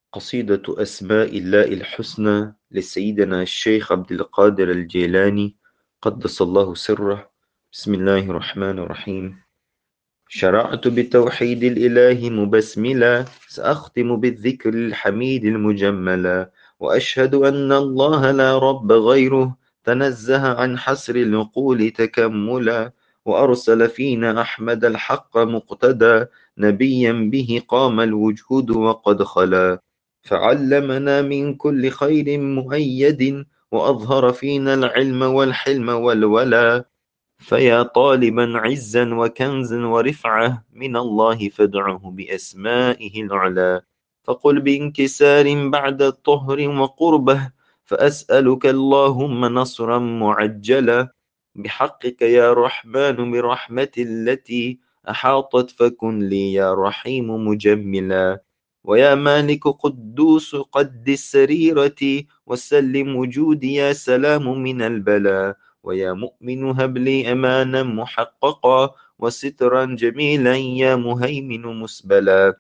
قصيدة أسماء الله الحسنى لسيدنا الشيخ عبد القادر الجيلاني قدس الله سره. بسم الله الرحمن الرحيم. شرعت بتوحيد الإله مبسملا، سأختم بالذكر الحميد المجملا، وأشهد أن الله لا رب غيره، تنزه عن حسر العقول تكملا، وأرسل فينا أحمد الحق مقتدى، نبيا به قام الوجود وقد خلا، فعلمنا من كل خير مؤيد، وأظهر فينا العلم والحلم والولا، فيا طالبا عزا وكنزا ورفعة من الله فادعه بأسمائه العلى، فقل بانكسار بعد الطهر وقربه، فأسألك اللهم نصرا معجلا، بحقك يا رحمن برحمة التي أحاطت، فكن لي يا رحيم مجملا، ويا مالك قدوس قد السريرة، وسلم وجودي يا سلام من البلاء، ويا مؤمن هب لي أمانا محققا، وسترا جميلا يا مهيمن مسبلا،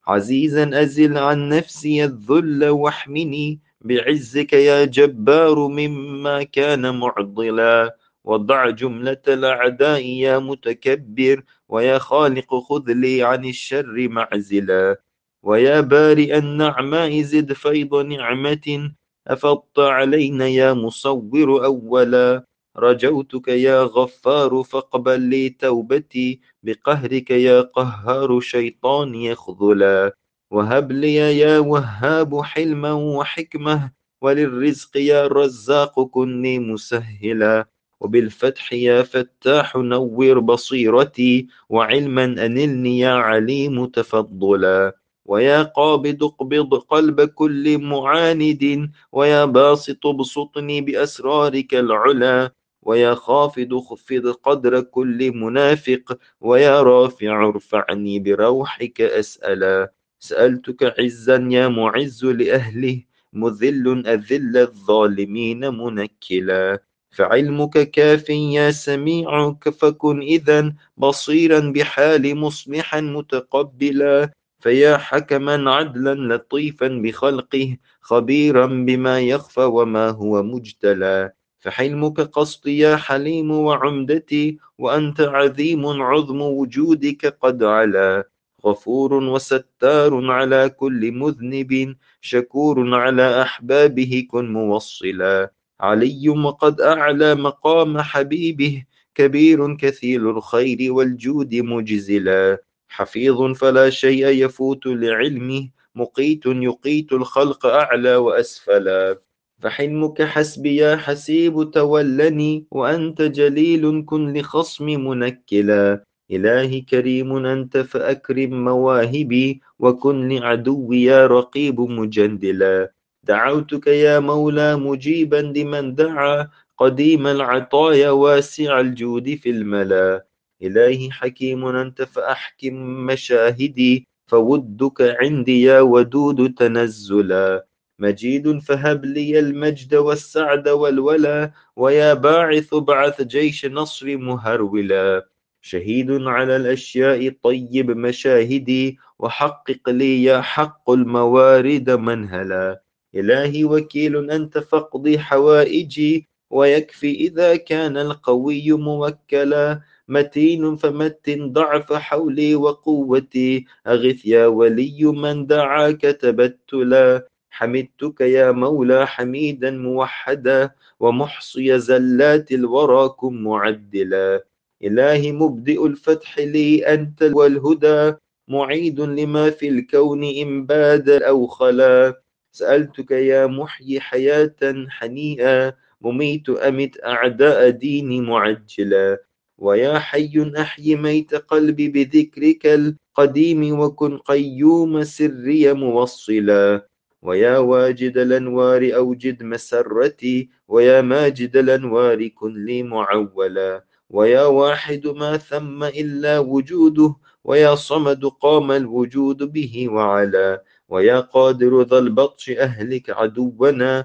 عزيزا أزل عن نفسي الذل واحمني بعزك يا جبار مما كان معضلا، وضع جملة الأعداء يا متكبر، ويا خالق خذ لي عن الشر معزلا، ويا بارئ النعماء زد فيض نعمة أفضت علينا يا مصور أولا، رجوتك يا غفار فاقبل لي توبتي، بقهرك يا قهار شيطاني يخذلا، وهب لي يا وهاب حلما وحكمة، وللرزق يا رزاق كني مسهلا، وبالفتح يا فتاح نور بصيرتي، وعلما أنلني يا عليم تفضلا، ويا قابض اقبض قلب كل معاند، ويا باسط ابسطني بأسرارك العلا، ويا خافض خفض قدر كل منافق، ويا رافع ارفعني بروحك أسألا، سألتك عزا يا معز لأهله، مذل أذل الظالمين منكلا، فعلمك كاف يا سميع، فكن إذا بصيرا بحال مصلحا متقبلا، فيا حكما عدلا لطيفا بخلقه، خبيرا بما يخفى وما هو مجتلى، فحلمك قصدي يا حليم وعمدتي، وأنت عظيم عظم وجودك قد علا، غفور وستار على كل مذنب، شكور على أحبابه كن موصلا، علي وقد أعلى مقام حبيبه، كبير كثير الخير والجود مجزلا، حفيظ فلا شيء يفوت لعلمه، مقيت يقيت الخلق أعلى وأسفلا، فحلمك حسبي يا حسيب تولني، وأنت جليل كن لخصم منكلا، إلهي كريم أنت فأكرم مواهبي، وكن لعدوي يا رقيب مجندلا، دعوتك يا مولى مجيبا لمن دعا، قديم العطايا واسع الجود في الملا، إلهي حكيم أنت فأحكم مشاهدي، فودك عندي يا ودود تنزلا، مجيد فهب لي المجد والسعد والولا، ويا باعث ابعث جيش نصر مهرولا، شهيد على الأشياء طيب مشاهدي، وحقق لي يا حق الموارد منهلا، إلهي وكيل أنت فاقضي حوائجي، ويكفي إذا كان القوي موكلا، متين فمتن ضعف حولي وقوتي، أغث يا ولي من دعاك تبتلا، حمدتك يا مولى حميدا موحدا، ومحصي زلات الورى كن معدلا، إلهي مبدئ الفتح لي أنت والهدى، معيد لما في الكون إن باد أو خلا، سألتك يا محيي حياة حنيئا، مميت أمت أعداء ديني معجلا، ويا حي أحي ميت قلبي بذكرك القديم، وكن قيوم سري موصلا، ويا واجد الأنوار أوجد مسرتي، ويا ماجد الأنوار كن لي معولا، ويا واحد ما ثم إلا وجوده، ويا صمد قام الوجود به وعلا، ويا قادر ذا البطش أهلك عدونا،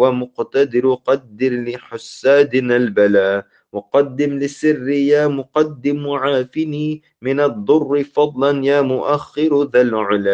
ومقتدر قدر لحسادنا البلا، وقدم للسر يا مقدم عافني من الضر فضلا يا مؤخر ذا العلا،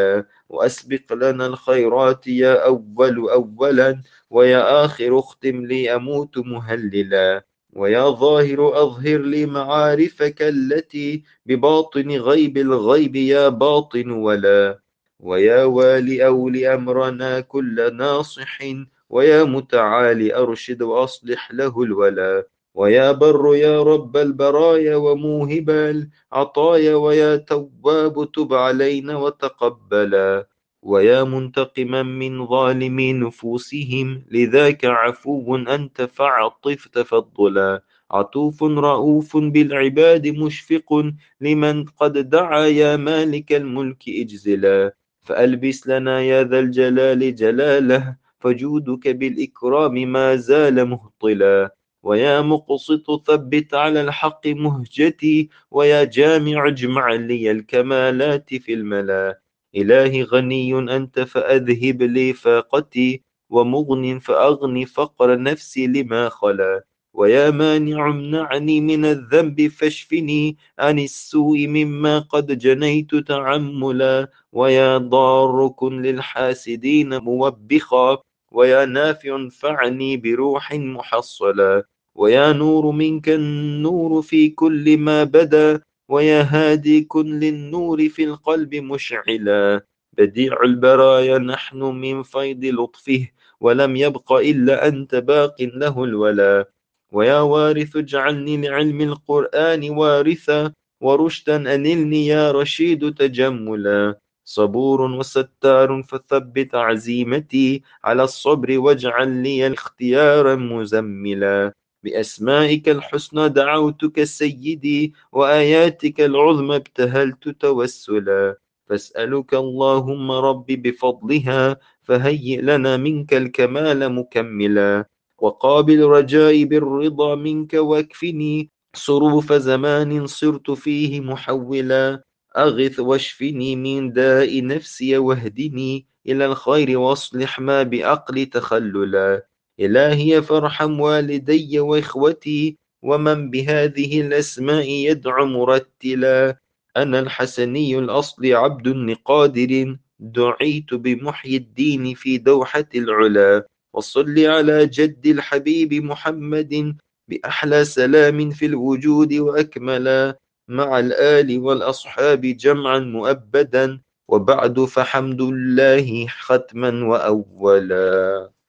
وأسبق لنا الخيرات يا أول أولا، ويا آخر اختم لي أموت مهللا، ويا ظاهر أظهر لي معارفك التي بباطن غيب الغيب يا باطن ولا، ويا والي أولي أمرنا كل ناصح، ويا متعالي أرشد وأصلح له الولا، ويا بر يا رب البرايا وموهب العطايا، ويا تواب تب علينا وتقبلا، ويا منتقما من ظالمي نفوسهم لذاك عفو أنت فاعطف تفضلا، عطوف رؤوف بالعباد مشفق لمن قد دعا يا مالك الملك اجزلا، فألبس لنا يا ذا الجلال جلاله، فجودك بالإكرام ما زال مهطلا، ويا مقسط ثبت على الحق مهجتي، ويا جامع اجمع لي الكمالات في الملا، إلهي غني أنت فأذهب لي فاقتي، ومغن فأغن فقر نفسي لما خلا، ويا مانع امنعني من الذنب فاشفني عن السوء مما قد جنيت تعملا، ويا ضار كن للحاسدين موبخا، ويا نافع انفعني بروح محصلا، ويا نور منك النور في كل ما بدا، ويا هادي كن للنور في القلب مشعلا، بديع البرايا نحن من فيض لطفه، ولم يبق إلا أنت باق له الولا، ويا وارث اجعلني لعلم القرآن وارثا، ورشدا أنلني يا رشيد تجملا، صبور وستار فثبت عزيمتي على الصبر، واجعل لي اختيارا مزملا، بأسمائك الحسنى دعوتك سيدي، وآياتك العظمى ابتهلت توسلا، فاسألك اللهم رب بفضلها فهيئ لنا منك الكمال مكملا، وقابل رجائي بالرضا منك، واكفني صروف زمان صرت فيه محولا، أغث واشفني من داء نفسي واهدني إلى الخير واصلح ما بأقل تخللا، إلهي فارحم والدي وإخوتي ومن بهذه الأسماء يدعو مرتلا، أنا الحسني الأصل عبد لقادر دعيت بمحيي الدين في دوحة العلا، وصل على جد الحبيب محمد بأحلى سلام في الوجود وأكملا، مع الآل والأصحاب جمعا مؤبدا، وبعد فحمد الله ختما وأولا.